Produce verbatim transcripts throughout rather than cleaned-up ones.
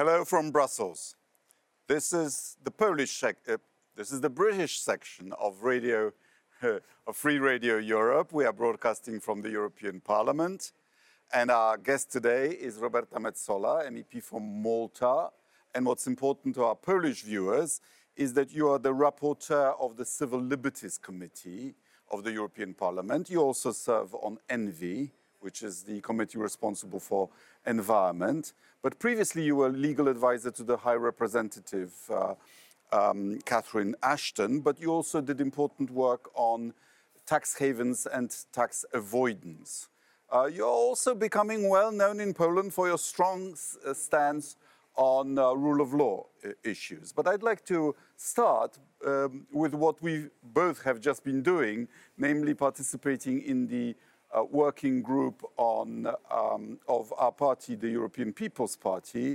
Hello from Brussels. This is the Polish sec uh, this is the British section of radio uh, of Free Radio Europe. We are broadcasting from the European Parliament, and our guest today is Roberta Metsola, M E P from Malta. And what's important to our Polish viewers is that you are the rapporteur of the Civil Liberties Committee of the European Parliament. You also serve on ENVI, which is the committee responsible for environment. But previously you were legal advisor to the High Representative uh, um, Catherine Ashton, but you also did important work on tax havens and tax avoidance. Uh, you're also becoming well known in Poland for your strong uh, stance on uh, rule of law issues. But I'd like to start um, with what we both have just been doing, namely participating in the uh, working group on, um, of our party, the European People's Party,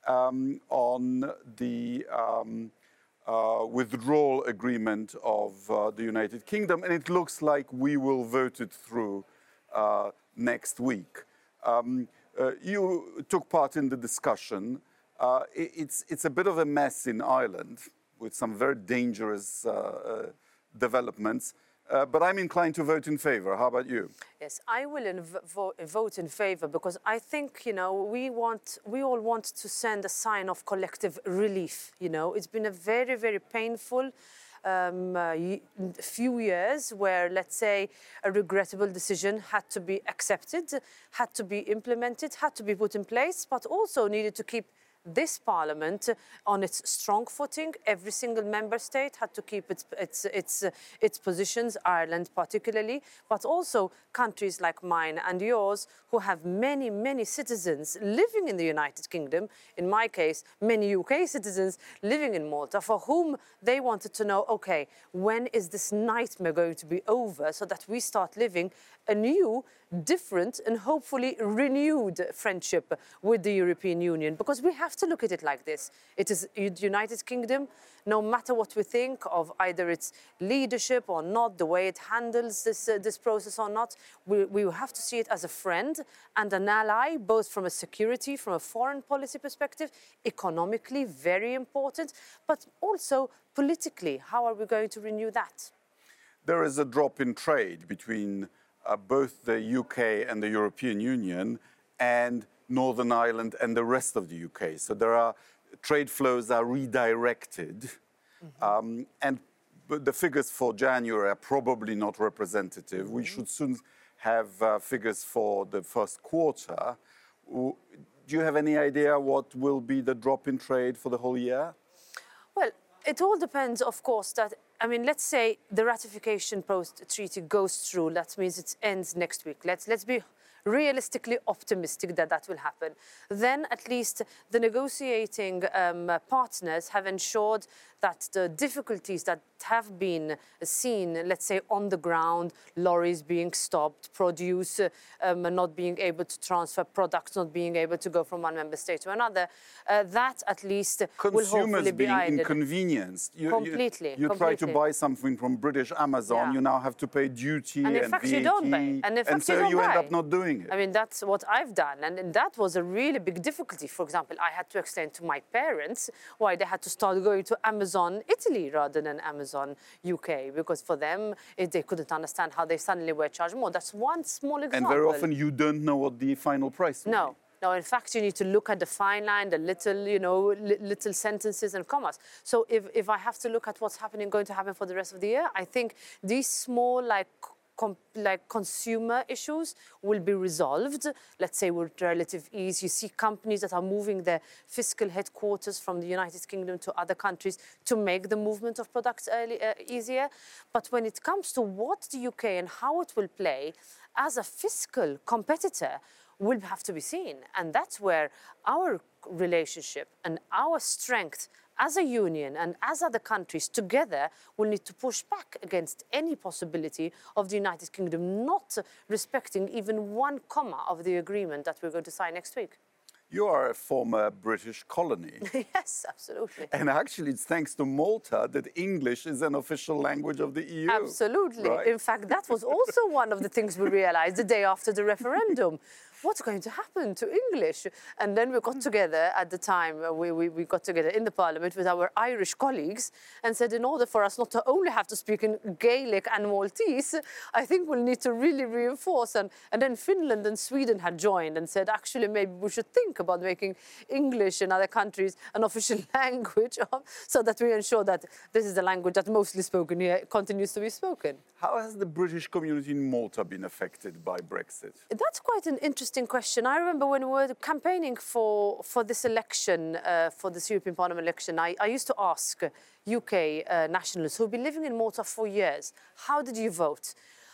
um, on the um, uh, withdrawal agreement of uh, the United Kingdom. And it looks like we will vote it through uh, next week. Um, uh, you took part in the discussion. Uh, it's, it's a bit of a mess in Ireland with some very dangerous uh, uh, developments, uh, but I'm inclined to vote in favour. How about you? Yes, I will vo vote in favour because I think, you know, we want, we all want to send a sign of collective relief, you know. It's been a very, very painful Um, uh, few years where, let's say, a regrettable decision had to be accepted, had to be implemented, had to be put in place, but also needed to keep this parliament on its strong footing. Every single member state had to keep its, its, its, uh, its positions, Ireland particularly, but also countries like mine and yours who have many, many citizens living in the United Kingdom, in my case, many U K citizens living in Malta, for whom they wanted to know, okay, when is this nightmare going to be over so that we start living a new, different and hopefully renewed friendship with the European Union, because we have to look at it like this. It is the United Kingdom, no matter what we think of either its leadership or not, the way it handles this, uh, this process or not, we, we have to see it as a friend and an ally, both from a security, from a foreign policy perspective, economically very important, but also politically. How are we going to renew that? There is a drop in trade between Uh, both the U K and the European Union and Northern Ireland and the rest of the U K. So there are trade flows are redirected. Mm-hmm. um, and the figures for January are probably not representative. Mm-hmm. We should soon have uh, figures for the first quarter. Do you have any idea what will be the drop in trade for the whole year? Well, it all depends, of course, that I mean, let's say the ratification post-treaty goes through. That means it ends next week. Let's, let's be realistically optimistic that that will happen. Then at least the negotiating um, partners have ensured that the difficulties that have been seen, let's say, on the ground, lorries being stopped, produce um, not being able to transfer products, not being able to go from one member state to another, uh, that at least Consumers will hopefully be being ended. Inconvenienced. You, completely. You, you completely. try to buy something from British Amazon, Yeah. you now have to pay duty and, in and fact, V A T, you don't buy. And, in fact, and so you, don't you buy. end up not doing it. I mean, that's what I've done. And, and that was a really big difficulty. For example, I had to explain to my parents why they had to start going to Amazon Italy rather than Amazon U K, because for them, it, they couldn't understand how they suddenly were charged more. That's one small example. And very often you don't know what the final price will No. be. No, in fact, you need to look at the fine line, the little, you know, li little sentences and commas. So if, if I have to look at what's happening, going to happen for the rest of the year, I think these small, like, Com like consumer issues will be resolved, let's say, with relative ease. You see companies that are moving their fiscal headquarters from the United Kingdom to other countries to make the movement of products early, uh, easier. But when it comes to what the U K and how it will play as a fiscal competitor will have to be seen. And that's where our relationship and our strength as a union and as other countries together will need to push back against any possibility of the United Kingdom not respecting even one comma of the agreement that we're going to sign next week. You are a former British colony. Yes, absolutely. And actually, it's thanks to Malta that English is an official language of the E U. Absolutely. Right? In fact, that was also one of the things we realized the day after the referendum. what's going to happen to English? And then we got together at the time, uh, we, we, we got together in the parliament with our Irish colleagues and said, in order for us not to only have to speak in Gaelic and Maltese, I think we'll need to really reinforce. And, and then Finland and Sweden had joined and said, actually, maybe we should think about making English in other countries an official language of, so that we ensure that this is the language that mostly spoken here continues to be spoken. How has the British community in Malta been affected by Brexit? That's quite an interesting question. I remember when we were campaigning for, for this election, uh, for this European Parliament election, I, I used to ask U K uh, nationalists who've been living in Malta for years, how did you vote?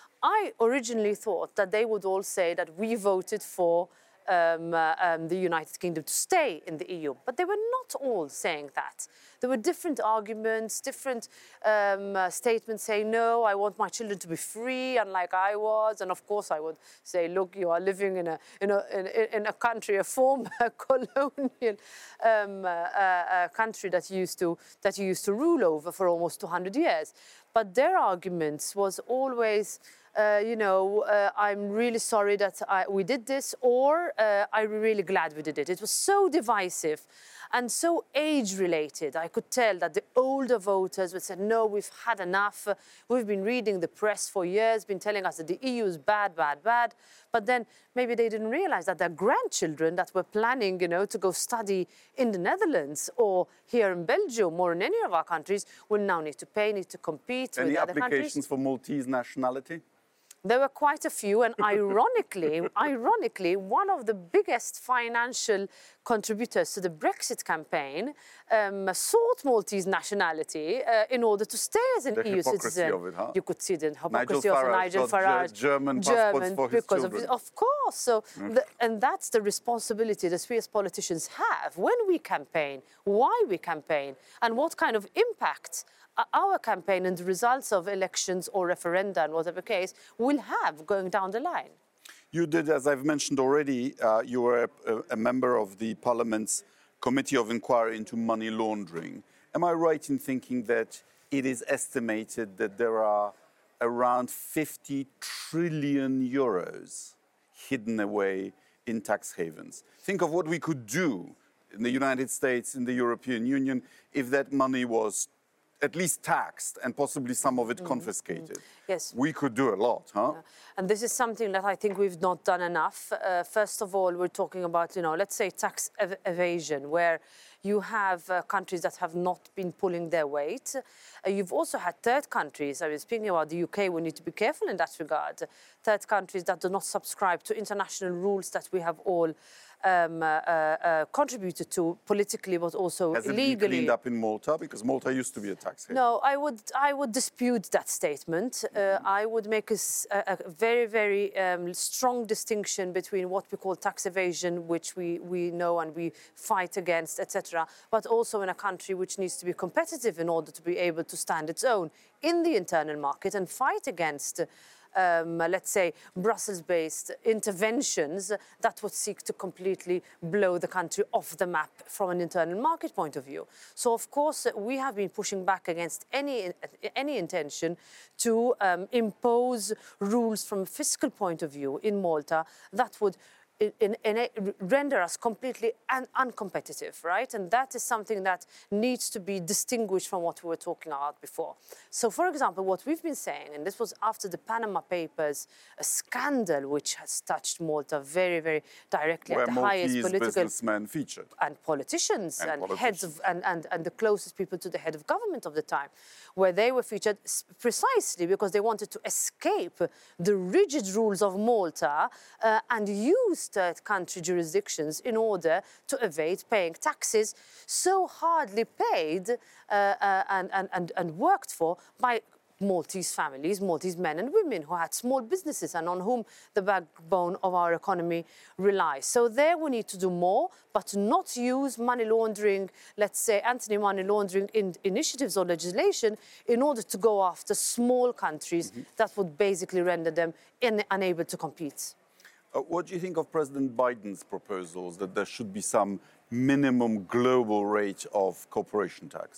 I originally thought that they would all say that we voted for Um, uh, um, the United Kingdom to stay in the E U. But they were not all saying that. There were different arguments, different um, uh, statements saying, no, I want my children to be free, unlike I was. And of course I would say, look, you are living in a, in a, in, in a country, a former colonial um, uh, uh, country that you, used to, that you used to rule over for almost two hundred years. But their arguments was always, Uh, you know, uh, I'm really sorry that I, we did this, or uh, I'm really glad we did it. It was so divisive and so age-related. I could tell that the older voters would say, no, we've had enough. Uh, we've been reading the press for years, been telling us that the E U is bad, bad, bad. But then maybe they didn't realize that their grandchildren that were planning, you know, to go study in the Netherlands or here in Belgium or in any of our countries will now need to pay, need to compete Any with other countries. Any applications for Maltese nationality? There were quite a few, and ironically, ironically, one of the biggest financial contributors to the Brexit campaign um, sought Maltese nationality uh, in order to stay as an the E U citizen. Of it, huh? You could see the hypocrisy Nigel of Farage Nigel got Farage. German passports for his because children. Of, of course. So, mm. the, and that's the responsibility that we as politicians have when we campaign, why we campaign, and what kind of impact our campaign and the results of elections or referenda, in whatever case, will have going down the line. You did, as I've mentioned already, uh, you were a, a member of the Parliament's Committee of Inquiry into Money Laundering. Am I right in thinking that it is estimated that there are around fifty trillion euros hidden away in tax havens? Think of what we could do in the United States, in the European Union, if that money was at least taxed and possibly some of it mm-hmm. confiscated. Mm-hmm. Yes. We could do a lot, huh? Yeah. And this is something that I think we've not done enough. Uh, first of all, we're talking about, you know, let's say tax ev evasion, where you have uh, countries that have not been pulling their weight. Uh, you've also had third countries. I mean, speaking about the U K, we need to be careful in that regard. Third countries that do not subscribe to international rules that we have all Um, uh, uh, contributed to politically, but also Has illegally. Has it been cleaned up in Malta? Because Malta used to be a tax haven. No, I would, I would dispute that statement. Uh, I would make a, a very, very um, strong distinction between what we call tax evasion, which we, we know and we fight against, et cetera, but also in a country which needs to be competitive in order to be able to stand its own in the internal market and fight against Um, let's say, Brussels-based interventions that would seek to completely blow the country off the map from an internal market point of view. So, of course, we have been pushing back against any, any intention to um, impose rules from a fiscal point of view in Malta that would In, in, in render us completely un uncompetitive, right? And that is something that needs to be distinguished from what we were talking about before. So, for example, what we've been saying, and this was after the Panama Papers, a scandal which has touched Malta very, very directly Where at the Maltese highest political businessmen featured, and politicians and, and politicians. heads of and, and and the closest people to the head of government of the time, where they were featured precisely because they wanted to escape the rigid rules of Malta uh, and use third country jurisdictions in order to evade paying taxes so hardly paid uh, uh, and, and, and, and worked for by Maltese families, Maltese men and women who had small businesses and on whom the backbone of our economy relies. So there we need to do more, but not use money laundering, let's say anti-money laundering in initiatives or legislation in order to go after small countries mm-hmm. that would basically render them in, unable to compete. Uh, what do you think of President Biden's proposals that there should be some minimum global rate of corporation tax?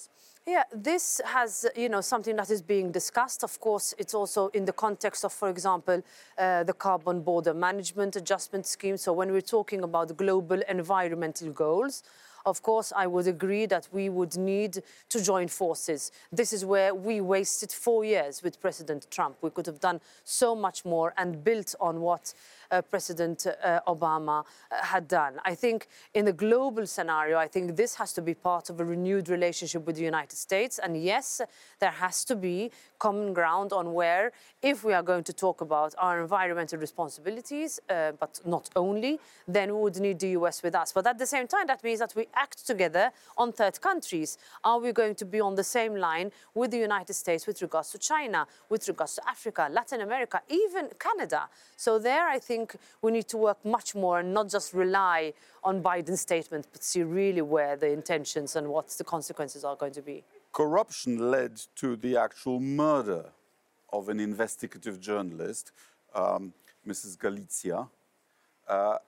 Yeah, this has, you know, something that is being discussed. Of course, it's also in the context of, for example, uh, the Carbon Border Management Adjustment Scheme. So when we're talking about global environmental goals, of course, I would agree that we would need to join forces. This is where we wasted four years with President Trump. We could have done so much more and built on what uh, President uh, Obama uh, had done. I think in the global scenario, I think this has to be part of a renewed relationship with the United States. And yes, there has to be common ground on where, if we are going to talk about our environmental responsibilities, uh, but not only, then we would need the U S with us. But at the same time, that means that we act together on third countries. Are we going to be on the same line with the United States with regards to China, with regards to Africa, Latin America, even Canada? So there, I think we need to work much more and not just rely on Biden's statement, but see really where the intentions and what the consequences are going to be. Corruption led to the actual murder of an investigative journalist, um, Missus Galizia. Uh, uh,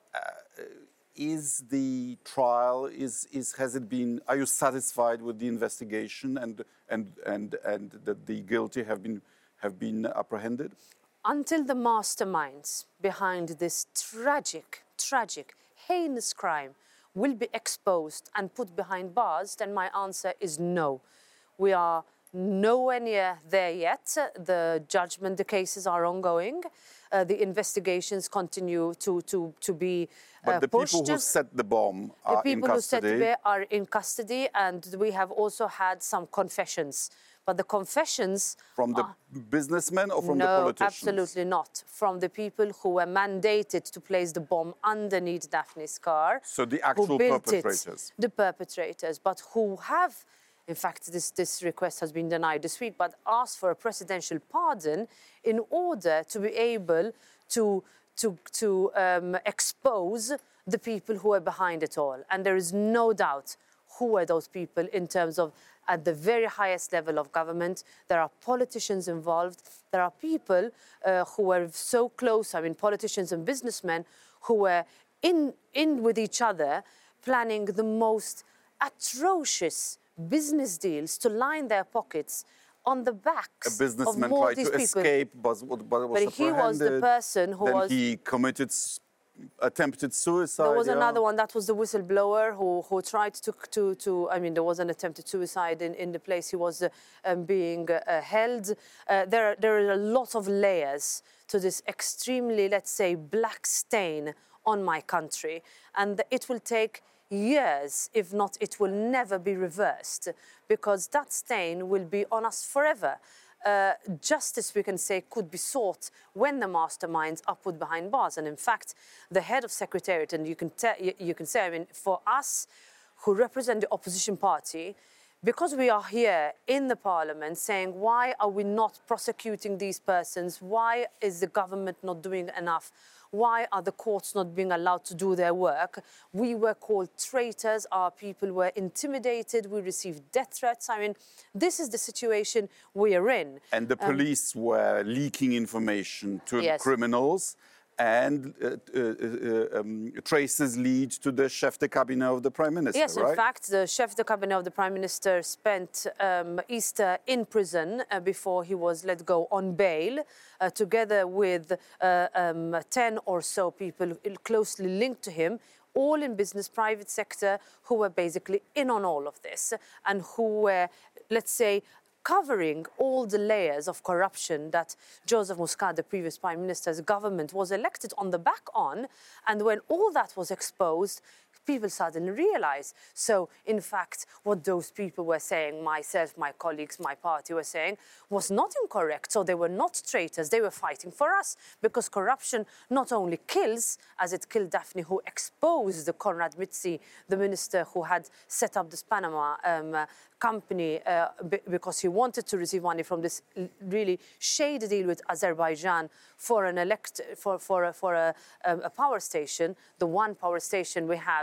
is the trial, is, is, has it been, are you satisfied with the investigation and, and, and, and that the guilty have been, have been apprehended? Until the masterminds behind this tragic, tragic, heinous crime will be exposed and put behind bars, then my answer is no. We are nowhere near there yet. The judgment, the cases are ongoing. Uh, the investigations continue to, to, to be uh, But the pushed. people who set the bomb are The people in who set the custody. bomb are in custody, and we have also had some confessions. But the confessions From the are, businessmen or from no, the politicians? absolutely not. From the people who were mandated to place the bomb underneath Daphne's car. So the actual who built perpetrators? It, the perpetrators, but who have, in fact, this, this request has been denied this week, but asked for a presidential pardon in order to be able to, to, to um, expose the people who are behind it all. And there is no doubt who are those people in terms of at the very highest level of government. There are politicians involved. There are people uh, who are so close, I mean, politicians and businessmen who were in, in with each other, planning the most atrocious business deals to line their pockets on the backs A businessman of more tried of these to people. escape, but, but was But he was the apprehended. person who then was... he committed attempted suicide. There was yeah. another one, that was the whistleblower who, who tried to, to, to, I mean, there was an attempted suicide in, in the place he was uh, um, being uh, held. Uh, there, there are a lot of layers to this extremely, let's say, black stain on my country. And it will take years, if not, it will never be reversed, because that stain will be on us forever. Uh, justice, we can say, could be sought when the masterminds are put behind bars. And in fact, the head of Secretariat, and you can, you, you can say, I mean, for us who represent the opposition party, because we are here in the parliament saying, why are we not prosecuting these persons? Why is the government not doing enough? Why are the courts not being allowed to do their work? We were called traitors. Our people were intimidated. We received death threats. I mean, this is the situation we are in. And the police um, were leaking information to yes. criminals, and uh, uh, uh, um, traces lead to the chef de cabinet of the Prime Minister, yes, right? in fact, the chef de cabinet of the Prime Minister spent um, Easter in prison uh, before he was let go on bail, uh, together with uh, um, ten or so people closely linked to him, all in business, private sector, who were basically in on all of this and who were, let's say, covering all the layers of corruption that Joseph Muscat, the previous Prime Minister's government, was elected on the back on. And when all that was exposed, people suddenly realized. So, in fact, what those people were saying, myself, my colleagues, my party were saying, was not incorrect. So they were not traitors. They were fighting for us, because corruption not only kills, as it killed Daphne, who exposed the Konrad Mizzi, the minister who had set up this Panama um, uh, company uh, because he wanted to receive money from this really shady deal with Azerbaijan for an elect for for a, for a, a power station, the one power station we have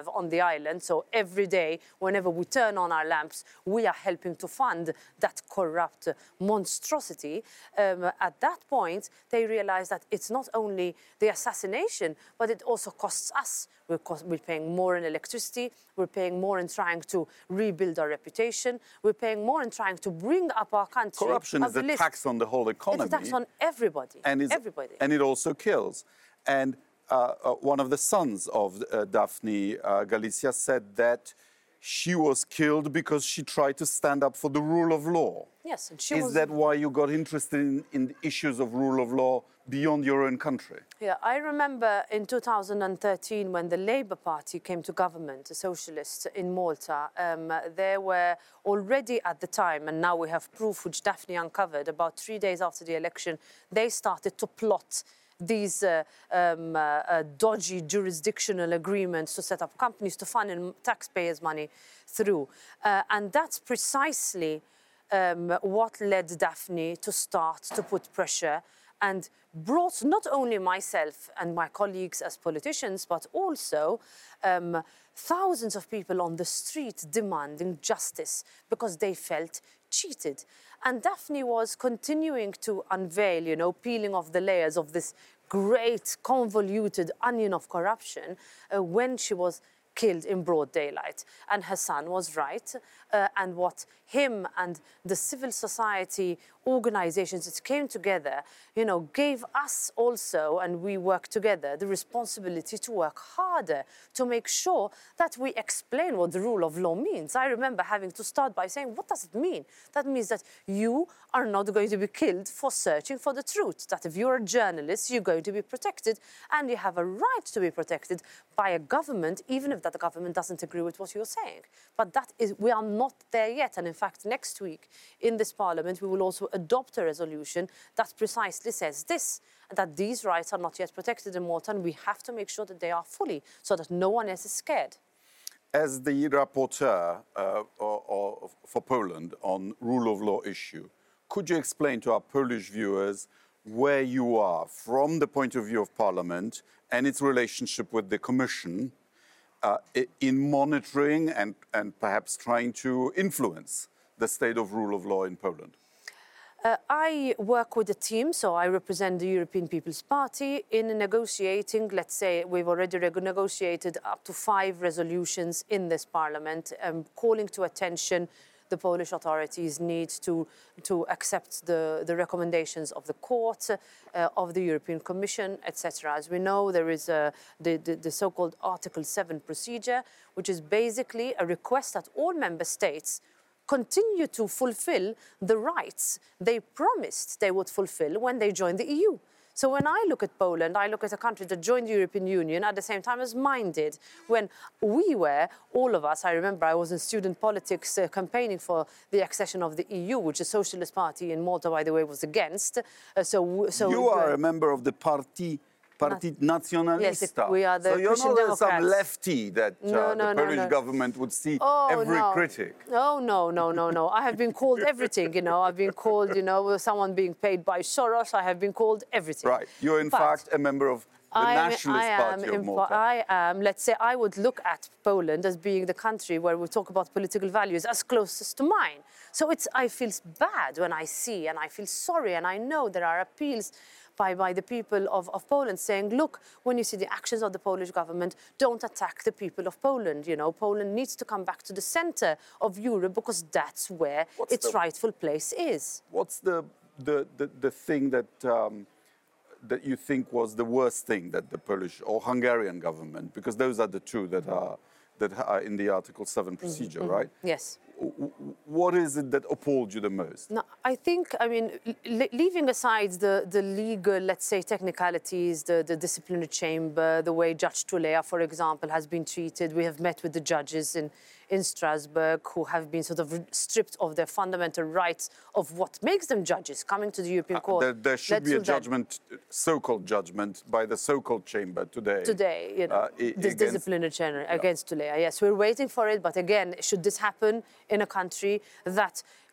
have on the island. So every day, whenever we turn on our lamps, we are helping to fund that corrupt monstrosity. Um, at that point, they realized that it's not only the assassination, but it also costs us. We're, cost, we're paying more in electricity, we're paying more in trying to rebuild our reputation, we're paying more in trying to bring up our country. Corruption is a list. tax on the whole economy. It's a tax on everybody, and everybody. And it also kills. And uh, uh, one of the sons of uh, Daphne uh, Galizia said that she was killed because she tried to stand up for the rule of law. Yes, and she Is was... that why you got interested in, in the issues of rule of law beyond your own country? Yeah, I remember in two thousand thirteen when the Labour Party came to government, the socialists in Malta, um, there were already at the time, and now we have proof which Daphne uncovered, about three days after the election, they started to plot these uh, um, uh, uh, dodgy jurisdictional agreements to set up companies to fund in taxpayers' money through. Uh, and that's precisely um, what led Daphne to start to put pressure and brought not only myself and my colleagues as politicians, but also um, thousands of people on the street demanding justice because they felt cheated. And Daphne was continuing to unveil, you know, peeling off the layers of this great convoluted onion of corruption uh, when she was killed in broad daylight. And her son was right. Uh, and what him and the civil society organizations that came together, you know, gave us also, and we worked together, the responsibility to work harder to make sure that we explain what the rule of law means. I remember having to start by saying, what does it mean? That means that you are not going to be killed for searching for the truth, that if you're a journalist, you're going to be protected, and you have a right to be protected by a government, even if that government doesn't agree with what you're saying. But that is, we are not there yet. And in fact, next week in this parliament, we will also adopt a resolution that precisely says this, that these rights are not yet protected in Malta, and we have to make sure that they are fully, so that no one else is scared. As the rapporteur uh, or, or for Poland on rule of law issue, could you explain to our Polish viewers where you are from the point of view of Parliament and its relationship with the Commission uh, in monitoring and, and perhaps trying to influence the state of rule of law in Poland? Uh, I work with a team, so I represent the European People's Party in negotiating, let's say we've already negotiated up to five resolutions in this parliament, um, calling to attention the Polish authorities need to, to accept the, the recommendations of the court, uh, of the European Commission, et cetera. As we know, there is a, the, the, the so-called Article seven procedure, which is basically a request that all member states continue to fulfill the rights they promised they would fulfill when they joined the E U. So when I look at Poland, I look at a country that joined the European Union at the same time as mine did. When we were, all of us, I remember I was in student politics uh, campaigning for the accession of the E U, which the Socialist Party in Malta, by the way, was against. Uh, so, so you are uh, a member of the party. Partit Nazionalista. Yes, we are the so you're Christian not Democrats. some lefty that uh, No, no, the no, Polish no. government would see Oh, every no. critic. Oh, no, no, no, no. I have been called everything, you know. I've been called, you know, someone being paid by Soros. I have been called everything. Right. You're in But fact a member of the I am, Nationalist I am Party of in, Malta. I am, let's say, I would look at Poland as being the country where we talk about political values as closest to mine. So it's, I feel bad when I see, and I feel sorry, and I know there are appeals By, by the people of, of Poland saying, look, when you see the actions of the Polish government, don't attack the people of Poland. You know, Poland needs to come back to the center of Europe because that's where What's its the, rightful place is. What's the, the, the, the thing that, um, that you think was the worst thing that the Polish or Hungarian government, because those are the two that are, that are in the Article seven procedure, mm-hmm. right? Yes. What is it that appalled you the most? No, I think, I mean, leaving aside the, the legal, let's say, technicalities, the, the disciplinary chamber, the way Judge Tulea, for example, has been treated. We have met with the judges in, in Strasbourg who have been sort of stripped of their fundamental rights of what makes them judges, coming to the European Court. Uh, there, there should let's be a judgment, so-called judgment, by the so-called chamber today. Today, you know, uh, this against, disciplinary chamber against Tulea. Yes, we're waiting for it. But again, should this happen in a country that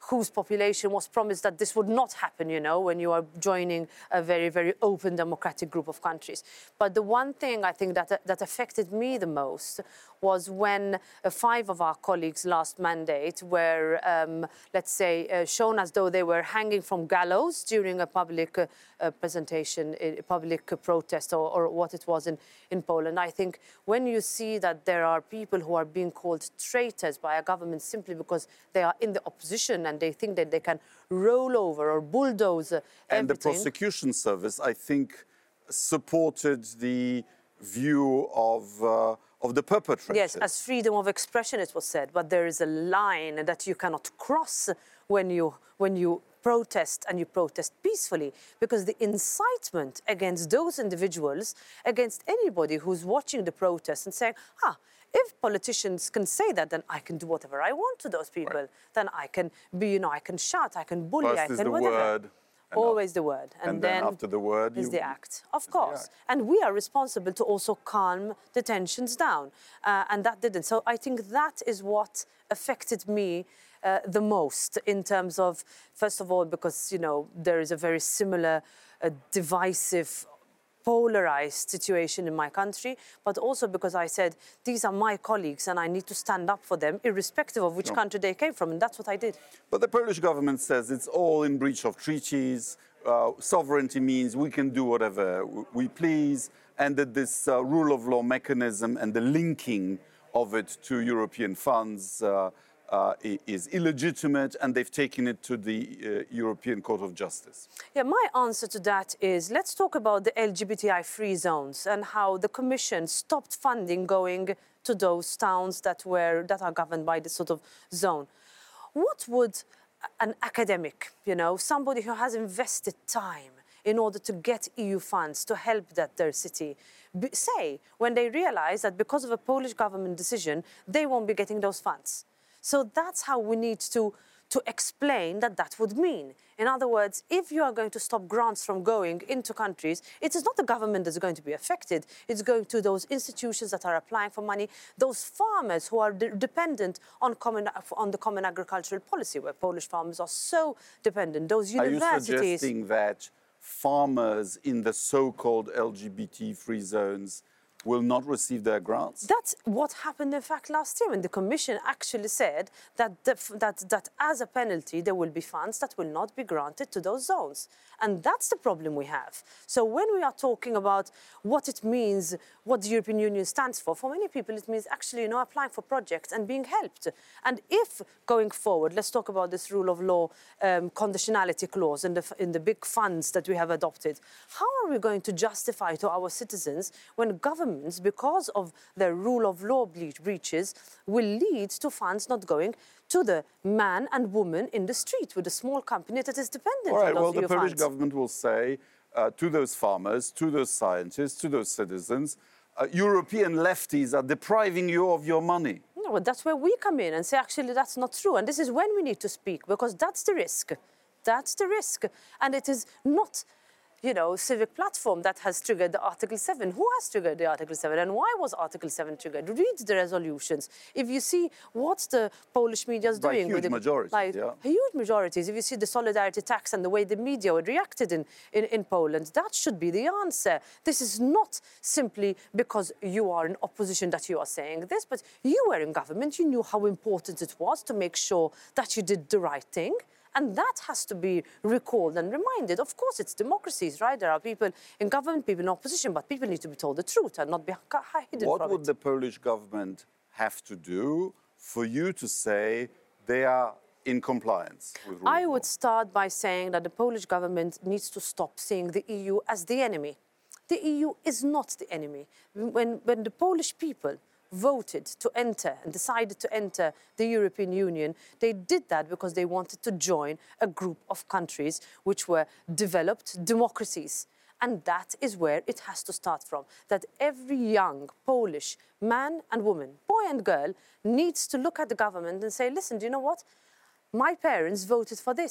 whose population was promised that this would not happen, you know, when you are joining a very, very open democratic group of countries. But the one thing I think that, that affected me the most was when uh, five of our colleagues last mandate were, um, let's say, uh, shown as though they were hanging from gallows during a public uh, uh, presentation, a public uh, protest, or, or what it was in, in Poland. I think when you see that there are people who are being called traitors by a government simply because they are in the opposition and they think that they can roll over or bulldoze uh, And the everything. prosecution service, I think, supported the view of, uh, of the perpetrators. Yes, as freedom of expression, it was said, but there is a line that you cannot cross when you, when you protest, and you protest peacefully, because the incitement against those individuals, against anybody who's watching the protest and saying, ah, if politicians can say that, then I can do whatever I want to those people. Right. Then I can be, you know, I can shout, I can bully, First I can is the whatever. word. Always the word. And, and then, then after the word is you, the act. Of course. And we are responsible to also calm the tensions down. Uh, and that didn't. So I think that is what affected me uh, the most in terms of, first of all, because, you know, there is a very similar uh, divisive, polarized situation in my country, but also because I said, these are my colleagues and I need to stand up for them, irrespective of which no. country they came from, and that's what I did. But the Polish government says it's all in breach of treaties, uh, sovereignty means we can do whatever we please, and that this uh, rule of law mechanism and the linking of it to European funds uh, Uh, is illegitimate, and they've taken it to the uh, European Court of Justice. Yeah, my answer to that is, let's talk about the L G B T I-free zones and how the Commission stopped funding going to those towns that were that are governed by this sort of zone. What would an academic, you know, somebody who has invested time in order to get E U funds to help that their city say when they realize that because of a Polish government decision, they won't be getting those funds? So that's how we need to, to explain that that would mean. In other words, if you are going to stop grants from going into countries, it is not the government that's going to be affected. It's going to those institutions that are applying for money, those farmers who are de dependent on, common, on the common agricultural policy, where Polish farmers are so dependent. Those universities... Are you suggesting that farmers in the so-called L G B T-free zones will not receive their grants? That's what happened, in fact, last year, when the Commission actually said that, the, that, that as a penalty, there will be funds that will not be granted to those zones. And that's the problem we have. So when we are talking about what it means, what the European Union stands for, for many people it means actually, you know, applying for projects and being helped. And if, going forward, let's talk about this rule of law um, conditionality clause in the, in the big funds that we have adopted, how are we going to justify to our citizens when governments, because of their rule of law breaches, will lead to funds not going to the man and woman in the street with a small company that is dependent All right, on those well, the E U Polish funds. government will say uh, to those farmers, to those scientists, to those citizens, uh, European lefties are depriving you of your money. No, but that's where we come in and say, actually, that's not true. And this is when we need to speak, because that's the risk. That's the risk. And it is not, you know, Civic Platform that has triggered the Article seven. Who has triggered the Article seven, and why was Article seven triggered? Read the resolutions. If you see what the Polish media is doing... By huge with majorities, like, yeah. Huge majorities. If you see the solidarity tax and the way the media reacted in, in, in Poland, that should be the answer. This is not simply because you are in opposition that you are saying this, but you were in government, you knew how important it was to make sure that you did the right thing. And that has to be recalled and reminded. Of course, it's democracies, right? There are people in government, people in opposition, but people need to be told the truth and not be hidden What from would it. the Polish government have to do for you to say they are in compliance with rule I of law? would start by saying that the Polish government needs to stop seeing the E U as the enemy. The E U is not the enemy. When, when the Polish people voted to enter and decided to enter the European Union, they did that because they wanted to join a group of countries which were developed democracies. And that is where it has to start from, that every young Polish man and woman, boy and girl, needs to look at the government and say, listen, do you know what? My parents voted for this.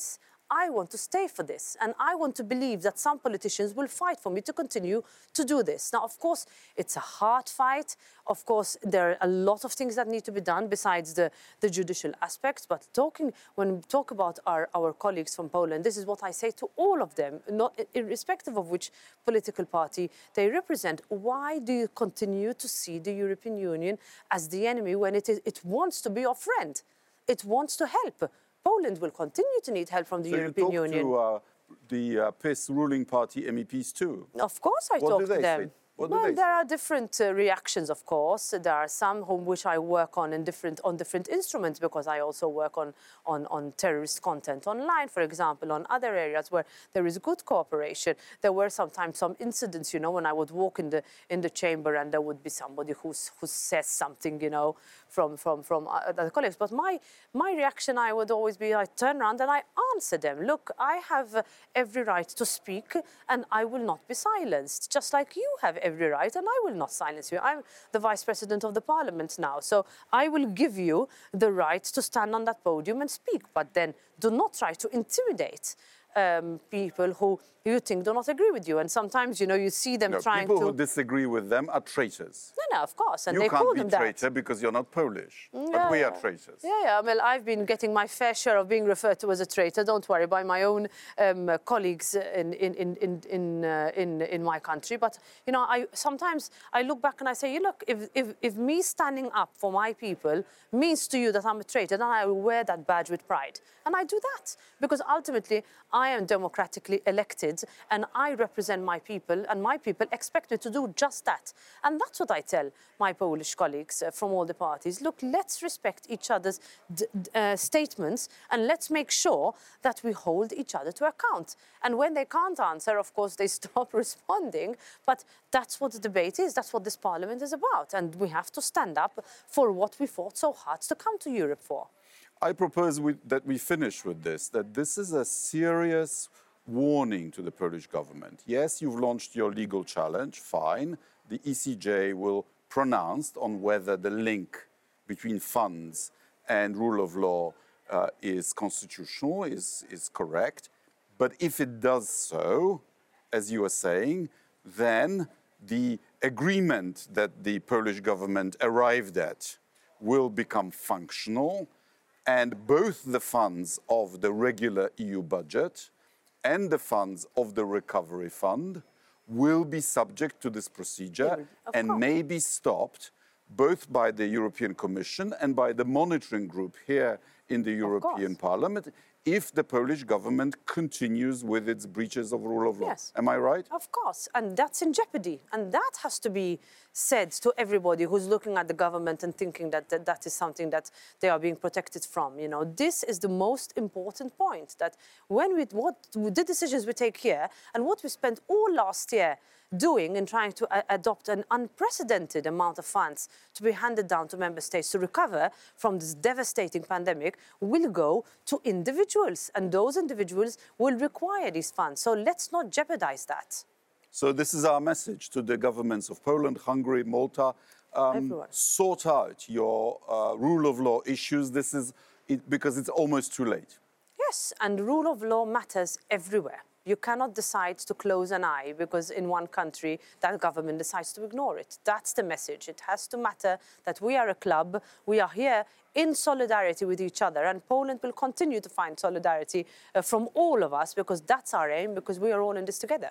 I want to stay for this. And I want to believe that some politicians will fight for me to continue to do this. Now, of course, it's a hard fight. Of course, there are a lot of things that need to be done besides the, the judicial aspects. But talking, when we talk about our, our colleagues from Poland, this is what I say to all of them, not irrespective of which political party they represent. Why do you continue to see the European Union as the enemy when it, is, it wants to be your friend? It wants to help. Poland will continue to need help from the so European you talk Union. to uh, the uh, P I S ruling party M E Ps too? Of course I What talk do they to them. say? What do well, they there say? are different uh, reactions, of course. There are some whom which I work on in different on different instruments, because I also work on, on, on terrorist content online, for example, on other areas where there is good cooperation. There were sometimes some incidents, you know, when I would walk in the in the chamber and there would be somebody who who says something, you know, from from from other colleagues. But my my reaction, I would always be, I turn around and I answer them. Look, I have uh, every right to speak, and I will not be silenced, just like you have every right, and I will not silence you. I'm the Vice President of the Parliament now, so I will give you the right to stand on that podium and speak, but then do not try to intimidate um, people who you think do not agree with you. And sometimes, you know, you see them No, trying people to... who disagree with them are traitors. No, no, of course, and You they can't call be them that. traitor because you're not Polish, Yeah, but we are yeah. traitors. Yeah, yeah. Well, I've been getting my fair share of being referred to as a traitor. Don't worry, by my own um, uh, colleagues in in in in in, uh, in in my country. But you know, I sometimes I look back and I say, you look, if if if me standing up for my people means to you that I'm a traitor, then I will wear that badge with pride, and I do that because ultimately I am democratically elected and I represent my people, and my people expect me to do just that. And that's what I tell my Polish colleagues uh, from all the parties. Look, let's respect each other's d d uh, statements, and let's make sure that we hold each other to account. And when they can't answer, of course, they stop responding. But that's what the debate is. That's what this parliament is about. And we have to stand up for what we fought so hard to come to Europe for. I propose we, that we finish with this, that this is a serious warning to the Polish government. Yes, you've launched your legal challenge, fine. The E C J will pronounce on whether the link between funds and rule of law uh, is constitutional, is, is correct. But if it does so, as you are saying, then the agreement that the Polish government arrived at will become functional, and both the funds of the regular E U budget and the funds of the recovery fund will be subject to this procedure Of and course. may be stopped both by the European Commission and by the monitoring group here in the European course. Parliament if the Polish government continues with its breaches of rule of law. Yes. Am I right? Of course, and that's in jeopardy. And that has to be said to everybody who's looking at the government and thinking that that, that is something that they are being protected from. You know, this is the most important point, that when we, what, the decisions we take here and what we spent all last year doing in trying to uh, adopt an unprecedented amount of funds to be handed down to member states to recover from this devastating pandemic will go to individuals, and those individuals will require these funds. So let's not jeopardize that. So this is our message to the governments of Poland, Hungary, Malta. Um, Everyone. sort out your uh, rule of law issues. This is it, because it's almost too late. Yes, and rule of law matters everywhere. You cannot decide to close an eye because in one country that government decides to ignore it. That's the message. It has to matter that we are a club. We are here in solidarity with each other, and Poland will continue to find solidarity uh, from all of us, because that's our aim, because we are all in this together.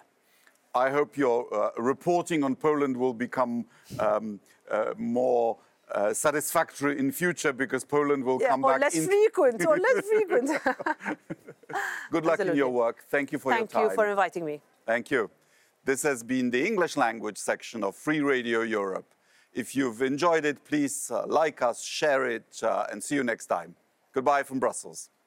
I hope your uh, reporting on Poland will become um, uh, more uh, satisfactory in future, because Poland will Yeah, come or back less in. frequent, or less frequent. Good luck in your Absolutely. work. Thank you for Thank your time. you for inviting me. Thank you. This has been the English language section of Free Radio Europe. If you've enjoyed it, please uh, like us, share it, uh, and see you next time. Goodbye from Brussels.